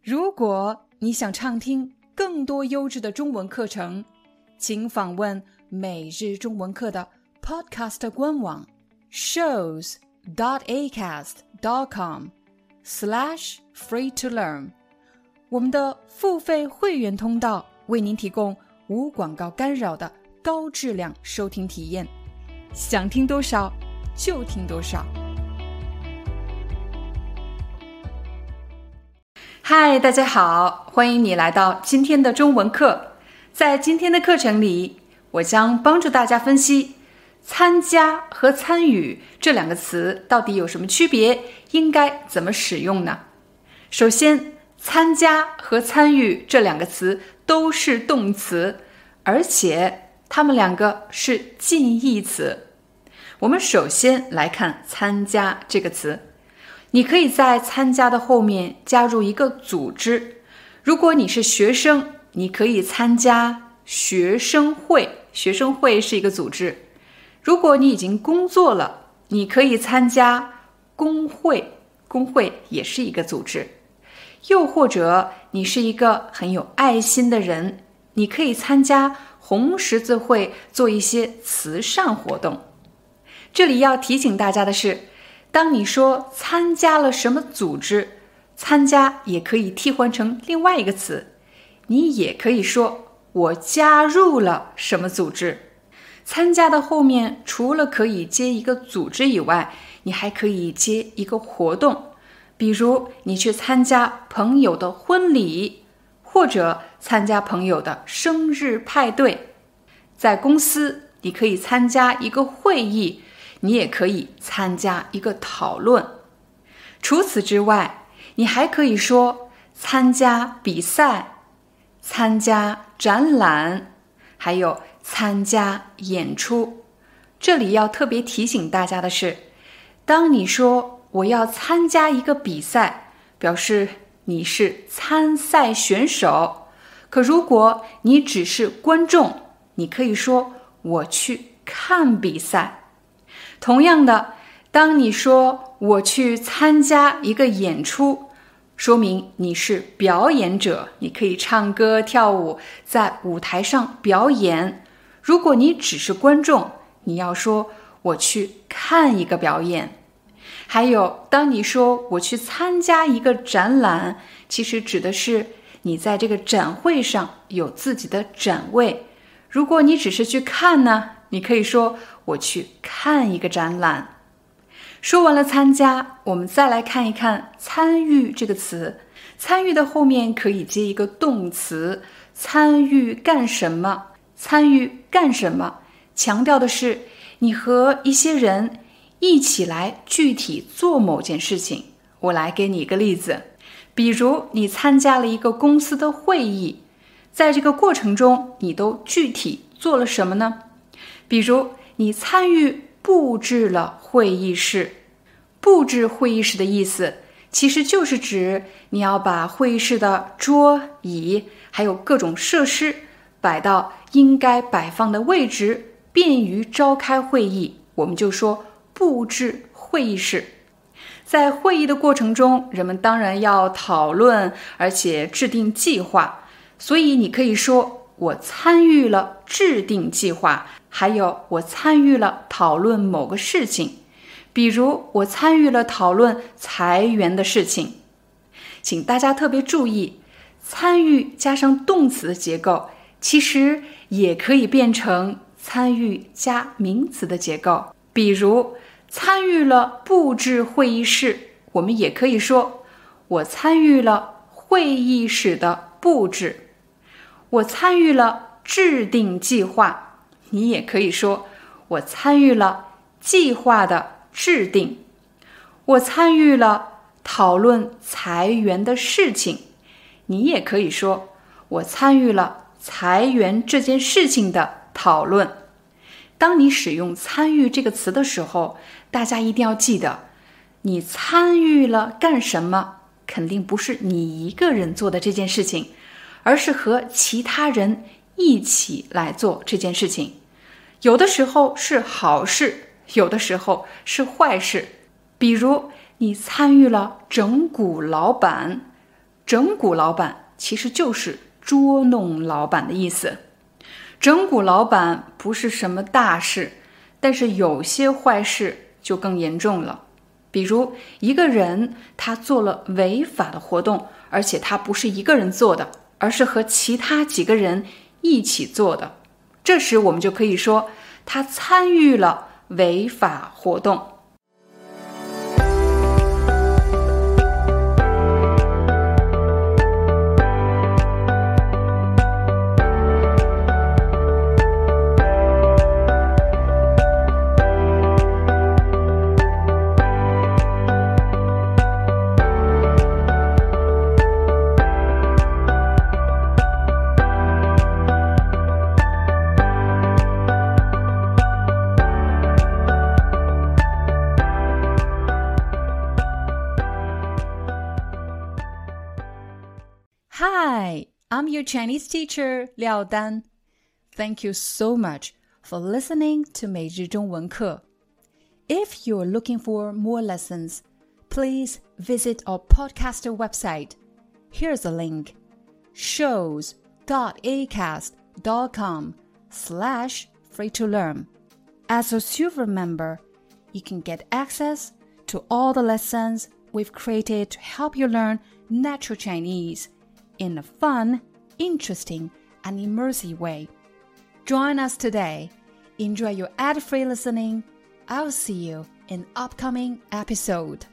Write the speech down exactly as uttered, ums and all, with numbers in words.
如果你想畅听更多优质的中文课程，请访问每日中文课的 Podcast 官网 shows dot acast dot com slash free to learn。 我们的付费会员通道为您提供无广告干扰的高质量收听体验，想听多少就听多少。嗨，大家好，欢迎你来到今天的中文课。在今天的课程里，我将帮助大家分析参加和参与这两个词到底有什么区别，应该怎么使用呢？首先，参加和参与这两个词都是动词，而且它们两个是近义词。我们首先来看参加这个词，你可以在参加的后面加入一个组织。如果你是学生，你可以参加学生会，学生会是一个组织。如果你已经工作了，你可以参加工会，工会也是一个组织。又或者你是一个很有爱心的人，你可以参加红十字会，做一些慈善活动。这里要提醒大家的是，当你说参加了什么组织，参加也可以替换成另外一个词，你也可以说我加入了什么组织。参加的后面除了可以接一个组织以外，你还可以接一个活动，比如你去参加朋友的婚礼，或者参加朋友的生日派对。在公司，你可以参加一个会议，你也可以参加一个讨论。除此之外，你还可以说参加比赛、参加展览，还有参加演出。这里要特别提醒大家的是，当你说我要参加一个比赛，表示你是参赛选手。可如果你只是观众，你可以说我去看比赛。同样的，当你说我去参加一个演出，说明你是表演者，你可以唱歌跳舞，在舞台上表演。如果你只是观众，你要说我去看一个表演。还有，当你说我去参加一个展览，其实指的是你在这个展会上有自己的展位。如果你只是去看呢，你可以说我去看一个展览。说完了参加，我们再来看一看参与这个词。参与的后面可以接一个动词，参与干什么？参与干什么？强调的是你和一些人一起来具体做某件事情。我来给你一个例子，比如你参加了一个公司的会议，在这个过程中你都具体做了什么呢？比如你参与布置了会议室。布置会议室的意思其实就是指你要把会议室的桌椅还有各种设施摆到应该摆放的位置，便于召开会议，我们就说布置会议室。在会议的过程中，人们当然要讨论，而且制定计划，所以你可以说我参与了制定计划，还有我参与了讨论某个事情，比如我参与了讨论裁员的事情。请大家特别注意，参与加上动词的结构，其实也可以变成参与加名词的结构。比如参与了布置会议室，我们也可以说我参与了会议室的布置。我参与了制定计划，你也可以说我参与了计划的制定。我参与了讨论裁员的事情，你也可以说我参与了裁员这件事情的讨论。当你使用参与这个词的时候，大家一定要记得，你参与了干什么，肯定不是你一个人做的这件事情，而是和其他人一起来做这件事情。有的时候是好事，有的时候是坏事。比如你参与了整蛊老板， 整蛊老板其实就是捉弄老板的意思。整蛊老板不是什么大事，但是有些坏事就更严重了。比如一个人他做了违法的活动，而且他不是一个人做的，而是和其他几个人一起做的，这时我们就可以说他参与了违法活动。Hi, I'm your Chinese teacher, Liao Dan. Thank you so much for listening to 每日中文课. If you're looking for more lessons, please visit our podcaster website. Here's a link, shows.acast.com slash free to learn. As a silver member, you can get access to all the lessons we've created to help you learn natural Chinese in a fun, interesting, and immersive way. Join us today. Enjoy your ad-free listening. I'll see you in upcoming episode.